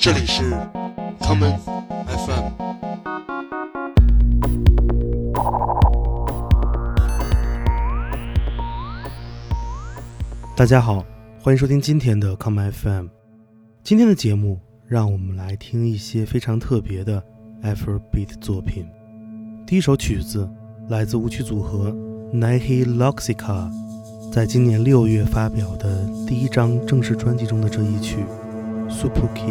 这里是 Common FM。 大家好，欢迎收听今天的 Common FM。 今天的节目让我们来听一些非常特别的 Afrobeat 作品。第一首曲子来自舞曲组合 Naihi Loxica 在今年6月发表的第一张正式专辑中的这一曲 Supuki。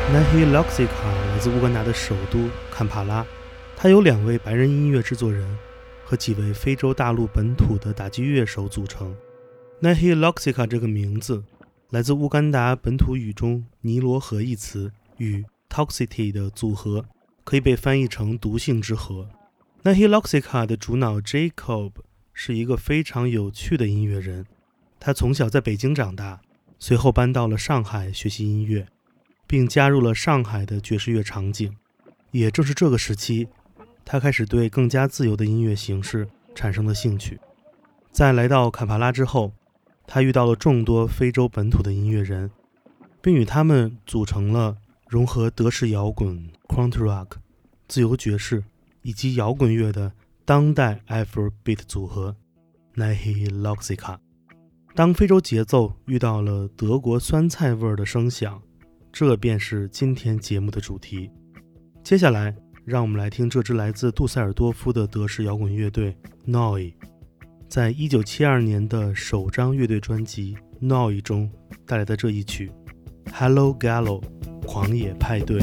Nahi Loxica 来自乌干达的首都坎帕拉，它由2位白人音乐制作人和几位非洲大陆本土的打击乐手组成。Nahi Loxica 这个名字来自乌干达本土语中尼罗河一词与 toxicity 的组合，可以被翻译成毒性之河。Nahi Loxica 的主脑 Jacob 是一个非常有趣的音乐人，他从小在北京长大，随后搬到了上海学习音乐，并加入了上海的爵士乐场景。也正是这个时期，他开始对更加自由的音乐形式产生了兴趣。在来到坎帕拉之后，他遇到了众多非洲本土的音乐人，并与他们组成了融合德式摇滚、Krautrock rock、自由爵士以及摇滚乐的当代 Afrobeat 组合 Nahi Loxica。 当非洲节奏遇到了德国酸菜味的声响，这便是今天节目的主题。接下来让我们来听这支来自杜塞尔多夫的德式摇滚乐队 Noi 在1972年的首张乐队专辑 Noi 中带来的这一曲 Hello Gallo 狂野派对。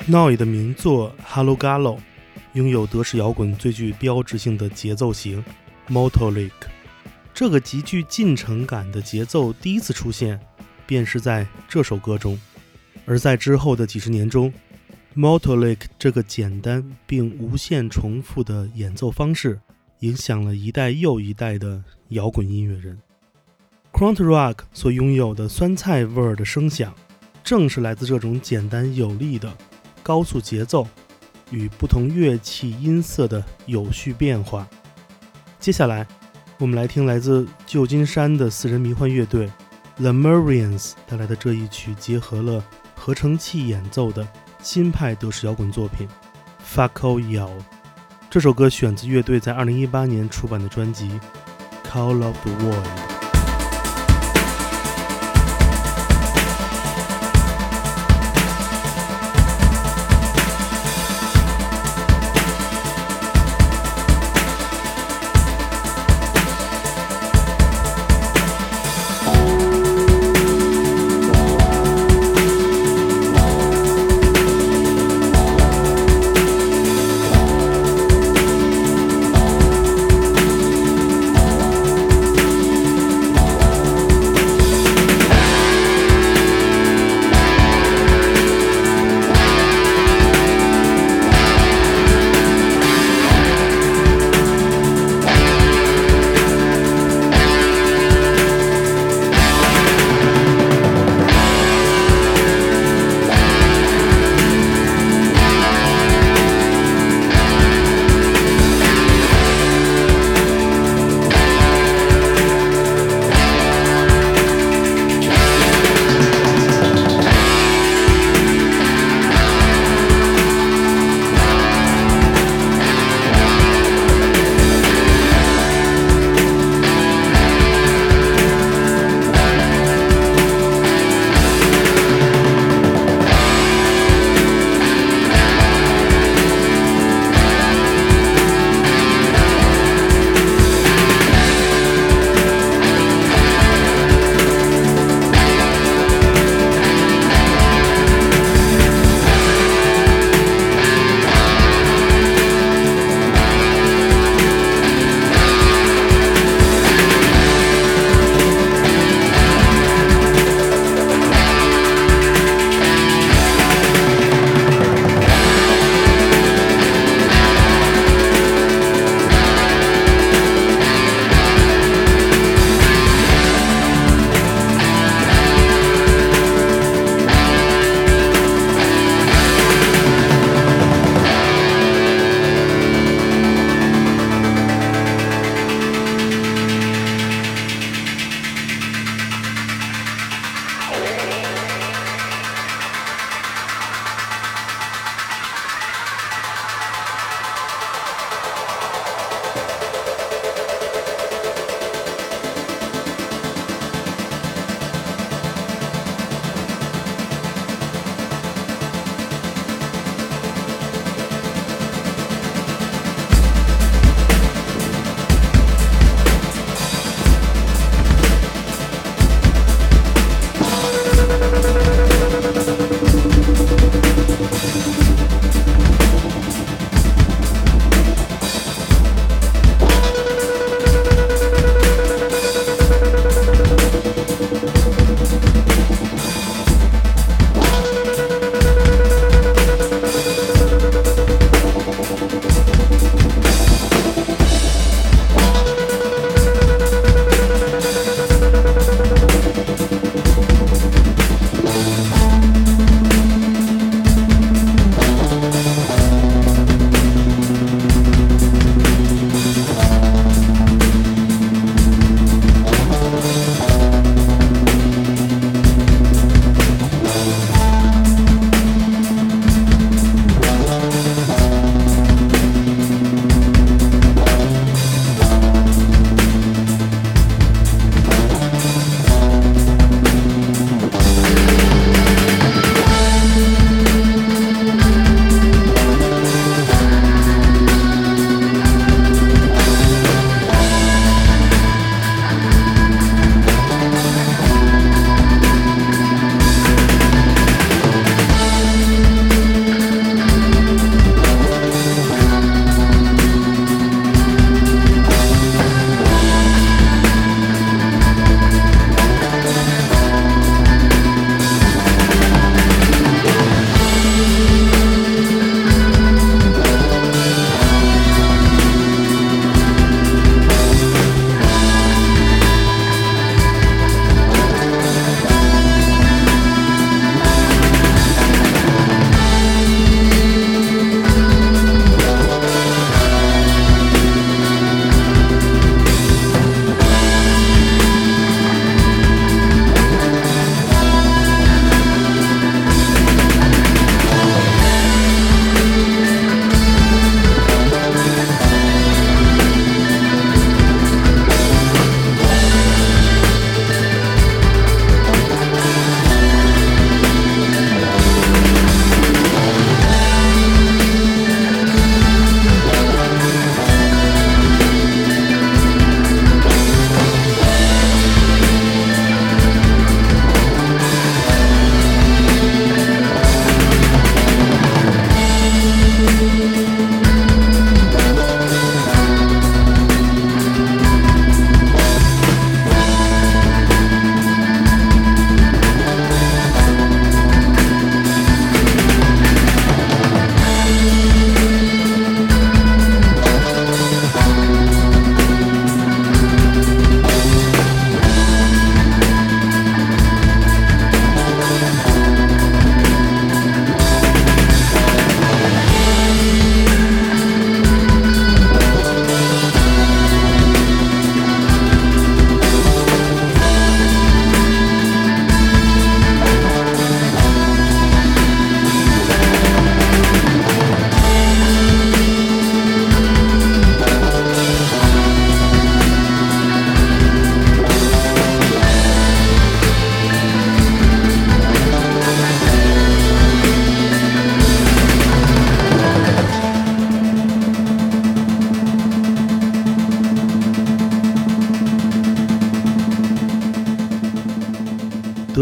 Portnoy 的名作 Hello Gallo 拥有德式摇滚最具标志性的节奏型 Motor-Lick。 这个极具进程感的节奏第一次出现便是在这首歌中，而在之后的几十年中， Motor-Lick 这个简单并无限重复的演奏方式影响了一代又一代的摇滚音乐人。 Krautrock 所拥有的酸菜味儿的声响正是来自这种简单有力的高速节奏与不同乐器音色的有序变化。接下来我们来听来自旧金山的4人迷幻乐队 Lemurians 带来的这一曲结合了合成器演奏的新派德式摇滚作品 Fucko Yell。 这首歌选自乐队在2018年出版的专辑 Call of the Void。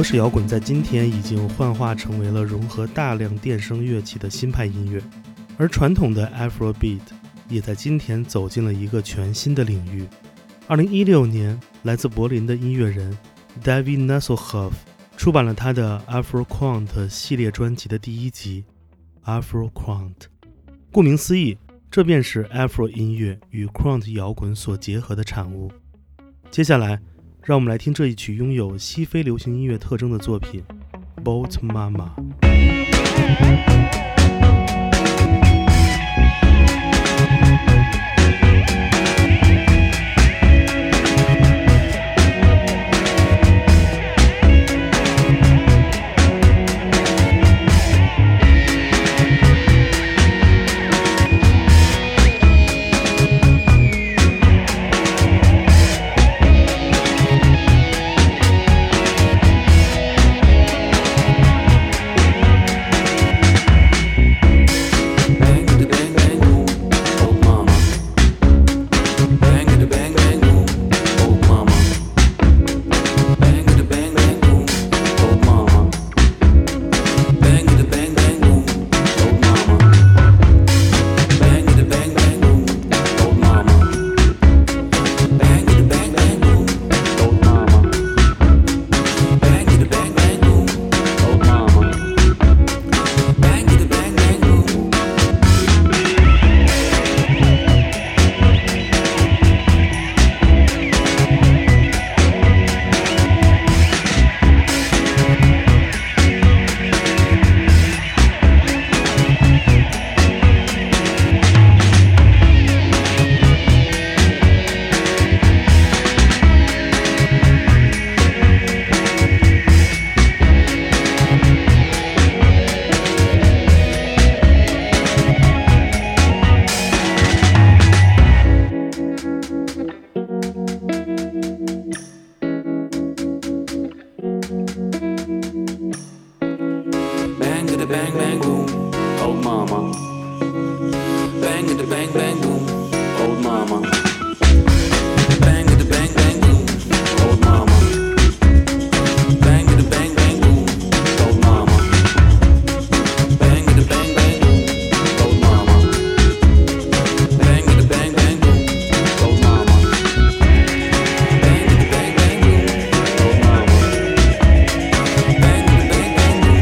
式摇滚在今天已经幻化成为了融合大量电声乐器的新派音乐，而传统的 Afrobeat 也在今天走进了一个全新的领域。2016年，来自柏林的音乐人 David Nasselhoff 出版了他的 Afro-Quant 系列专辑的第一集 Afro-Quant。 顾名思义，这便是 Afro 音乐与 Quant 摇滚所结合的产物。接下来让我们来听这一曲拥有西非流行音乐特征的作品 Boat Mama。 Bang bang boom, old mama. Bang at the bang bang boom, old mama. Bang at the bang bang boom, old mama. Bang at the bang bang boom, old mama. Bang at the bang bang boom, old mama. Bang at the bang bang boom, old mama. Bang at the bang bang boom, old mama. Bang at the bang bang boom.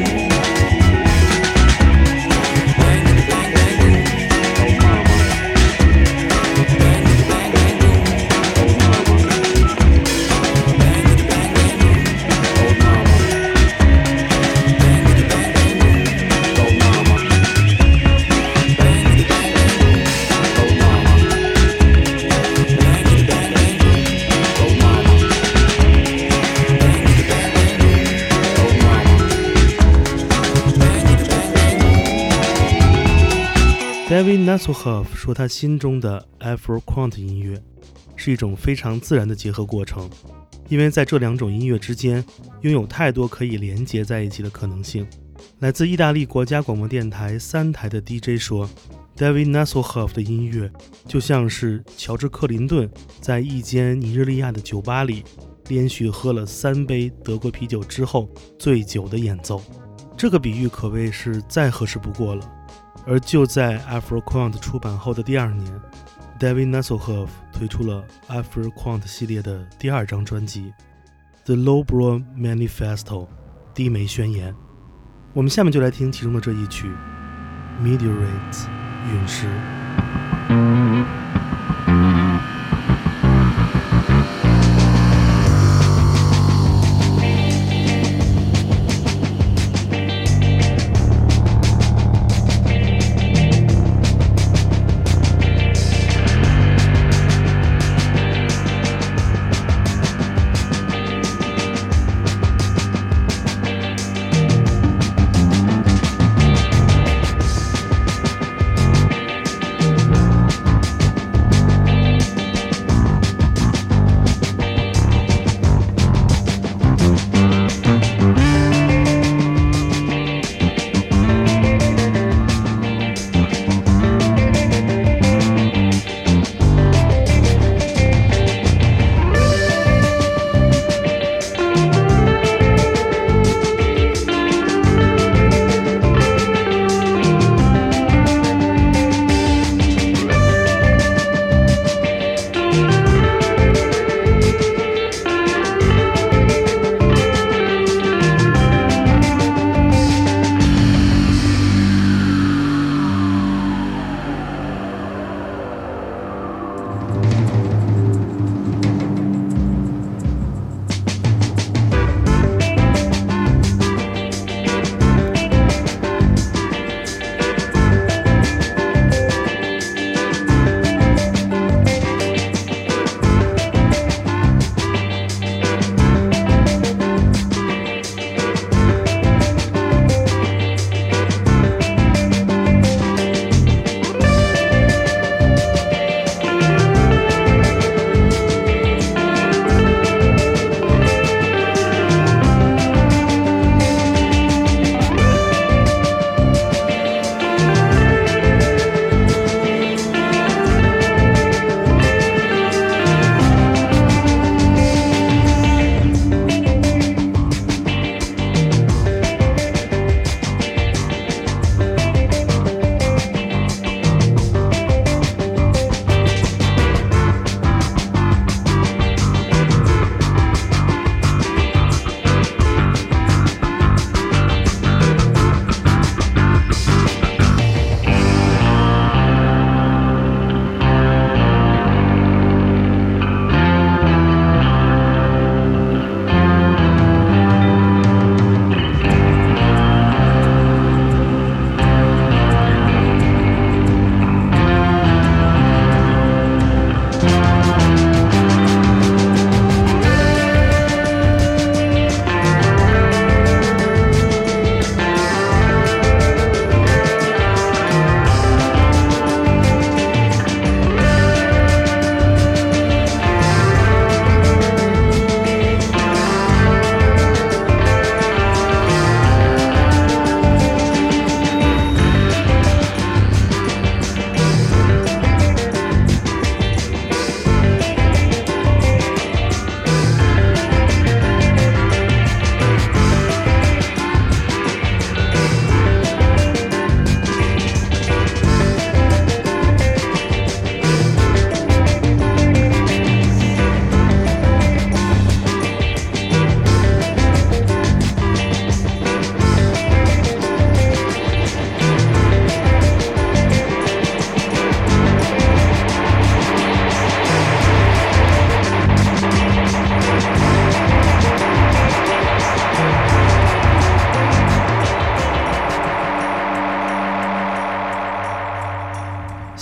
David Nasselhoff 说，他心中的 Afro-Quant 音乐是一种非常自然的结合过程，因为在这两种音乐之间拥有太多可以连接在一起的可能性。来自意大利国家广播电台3台的 DJ 说， David Nasselhoff 的音乐就像是乔治·克林顿在一间尼日利亚的酒吧里连续喝了3杯德国啤酒之后醉酒的演奏。这个比喻可谓是再合适不过了。而就在 Afro-Quant 出版后的第2年， David Nasselhoff 推出了 Afro-Quant 系列的第2张专辑 The Lowbrow Manifesto 低眉宣言。我们下面就来听其中的这一曲 Meteorites 陨石。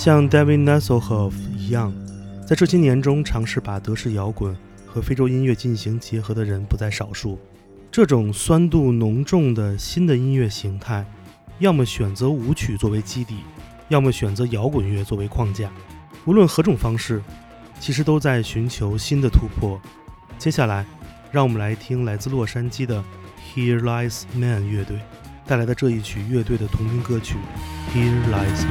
像 David Hasselhoff 一样，在这些年中尝试把德式摇滚和非洲音乐进行结合的人不在少数。这种酸度浓重的新的音乐形态，要么选择舞曲作为基底，要么选择摇滚乐作为框架。无论何种方式，其实都在寻求新的突破。接下来，让我们来听来自洛杉矶的 Here Lies Man 乐队带来的这一曲乐队的同名歌曲 Here Lies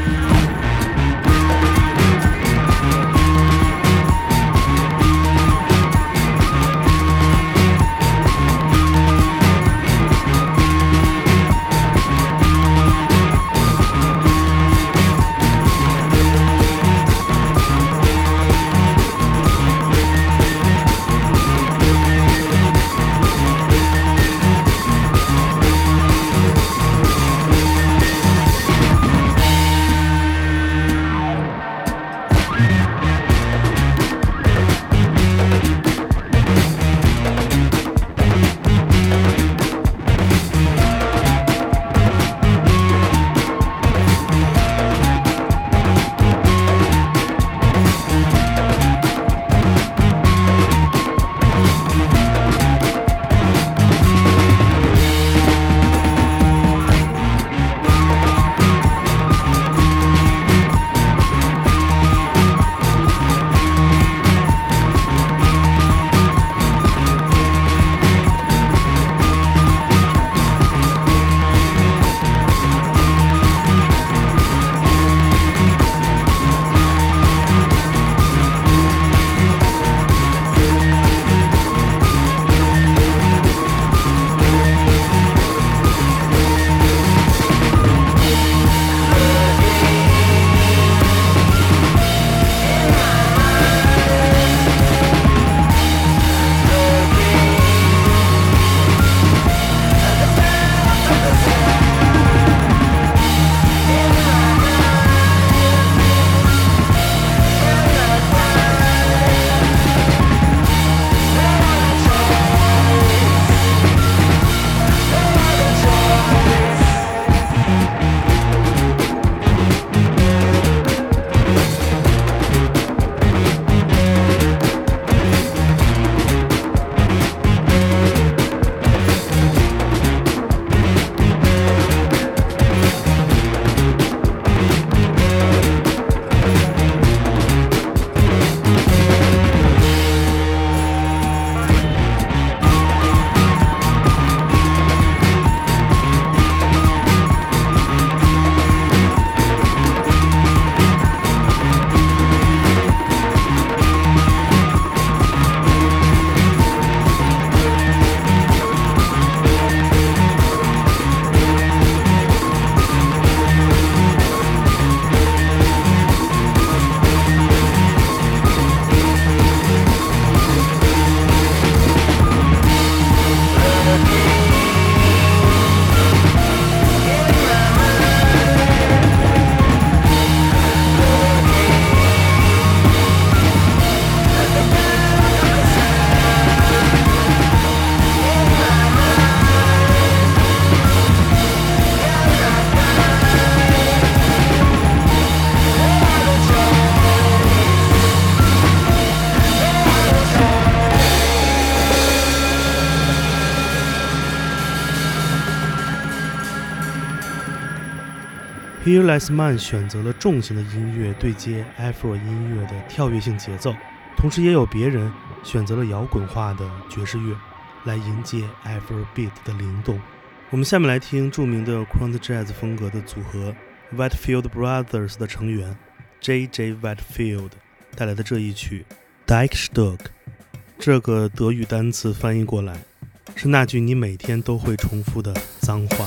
Man。Here Lies Man 选择了重型的音乐对接 Afro 音乐的跳跃性节奏，同时也有别人选择了摇滚化的爵士乐来迎接 Afrobeat 的灵动。我们下面来听著名的 Crunk Jazz 风格的组合 Whitefield Brothers 的成员 J.J. Whitefield 带来的这一曲 Dijkstück。 这个德语单词翻译过来是那句你每天都会重复的脏话。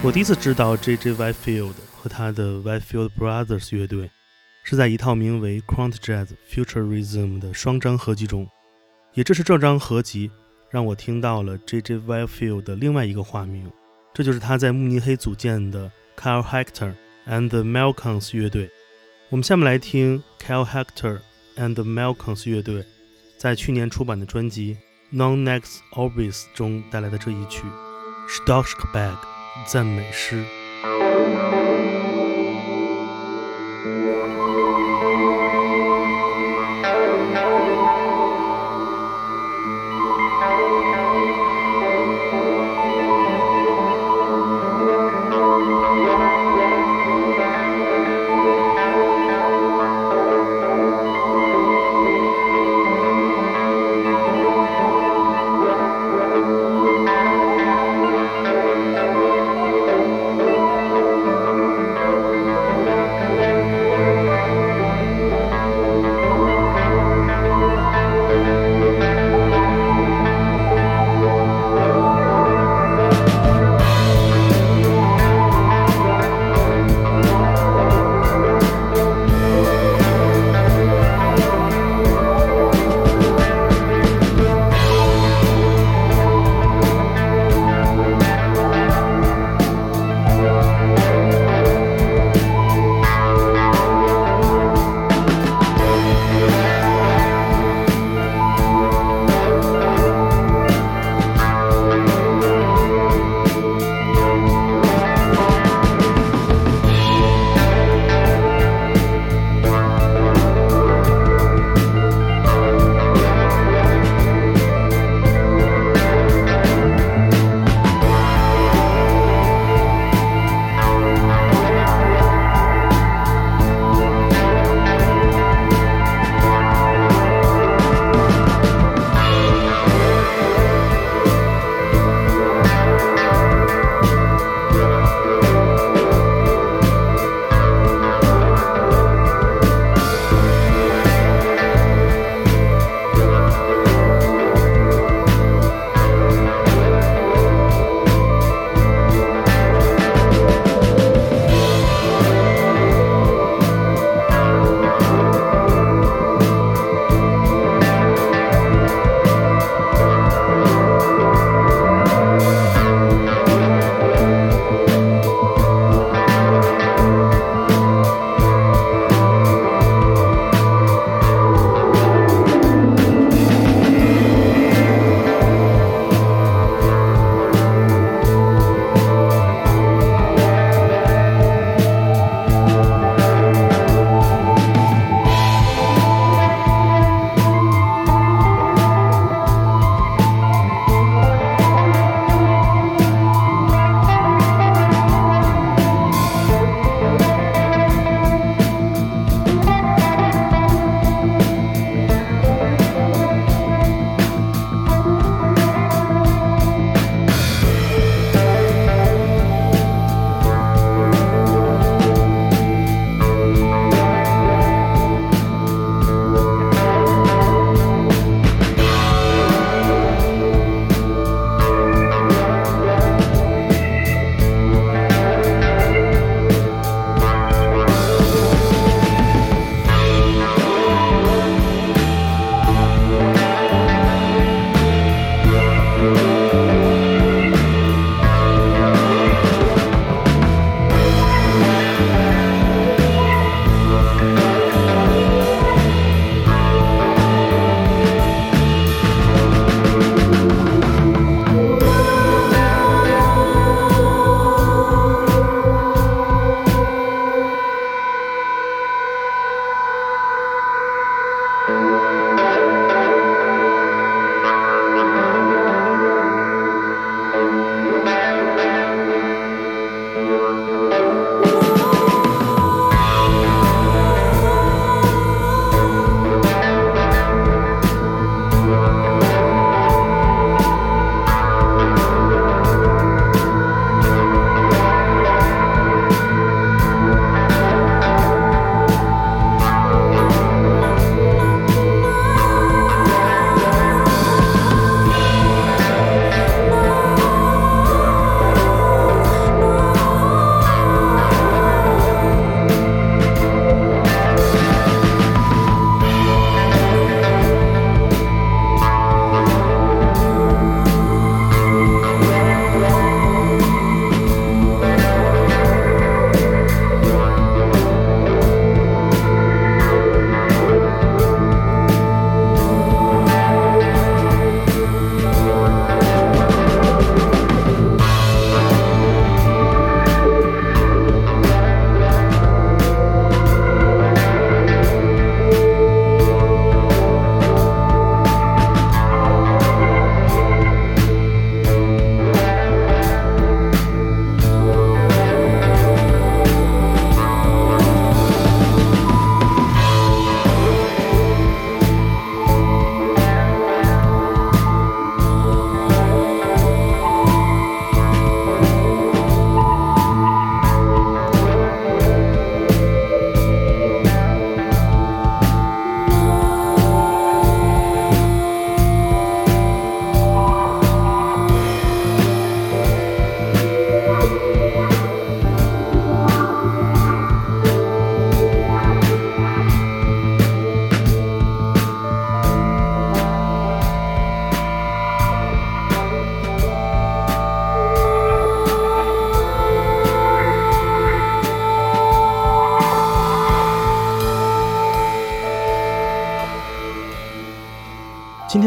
我第一次知道 J.J. Whitefield 和他的 Whitefield Brothers 乐队是在一套名为 Quant Jazz Futurism 的双张合集中，也正是这张合集让我听到了 J.J. Whitefield 的另外一个化名，这就是他在慕尼黑组建的 Kyle Hector and the Malcolms 乐队。我们下面来听 Kyle Hector and the Malcolms 乐队在去年出版的专辑 Non-Next Orbis 中带来的这一曲 Stockbag 赞美诗。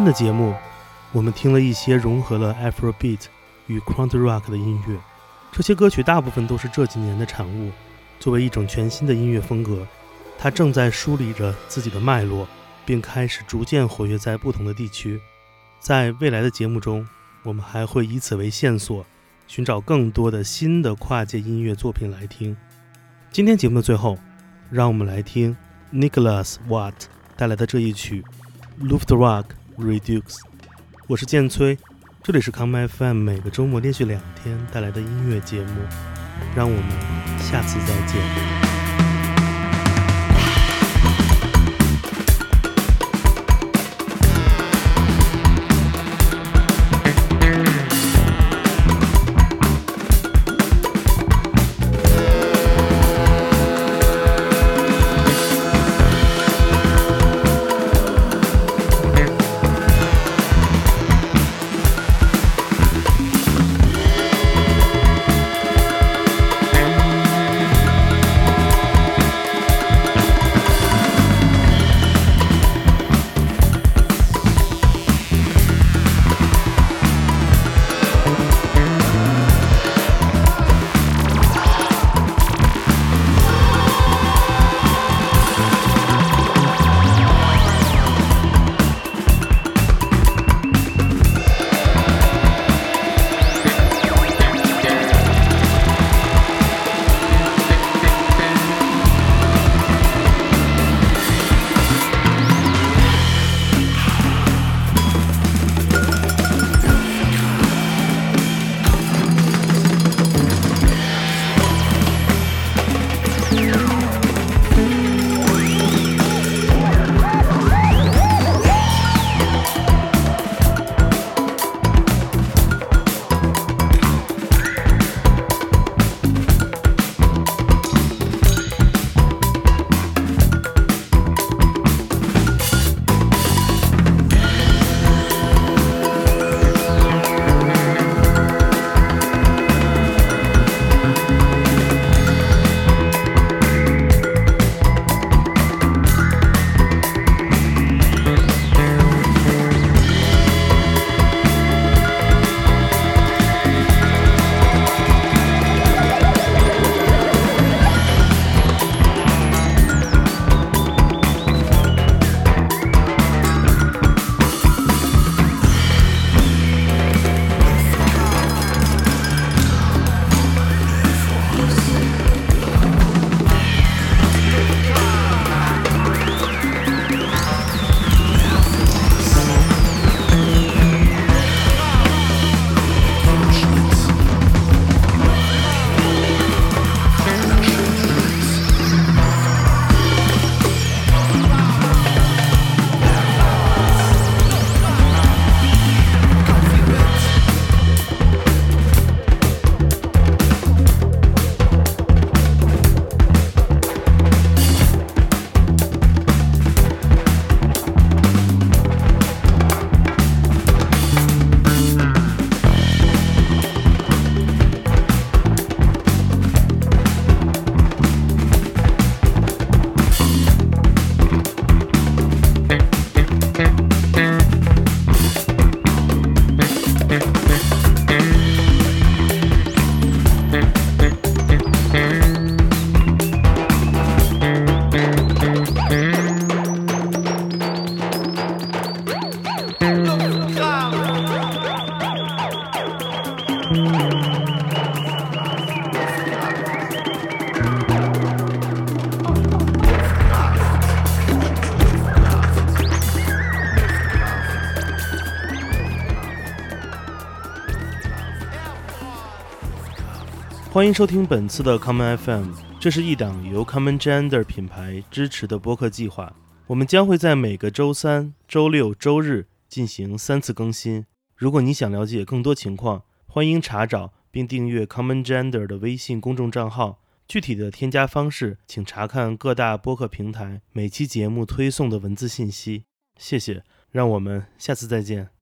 天的节目，我们听了一些融合了 Afrobeat 与 Crunk Rock 的音乐，这些歌曲大部分都是这几年的产物。作为一种全新的音乐风格，它正在梳理着自己的脉络，并开始逐渐活跃在不同的地区。在未来的节目中，我们还会以此为线索，寻找更多的新的跨界音乐作品来听。今天节目的最后，让我们来听 Nicholas Watt 带来的这一曲 Luftrock Redux。 我是建崔，这里是 Come FM 每个周末连续2天带来的音乐节目，让我们下次再见。 欢迎收听本次的 Common FM， 这是一档由 Common Gender 品牌支持的播客计划。我们将会在每个周三、周六、周日进行3次更新。如果你想了解更多情况，欢迎查找并订阅 Common Gender 的微信公众账号。具体的添加方式，请查看各大播客平台每期节目推送的文字信息。谢谢，让我们下次再见。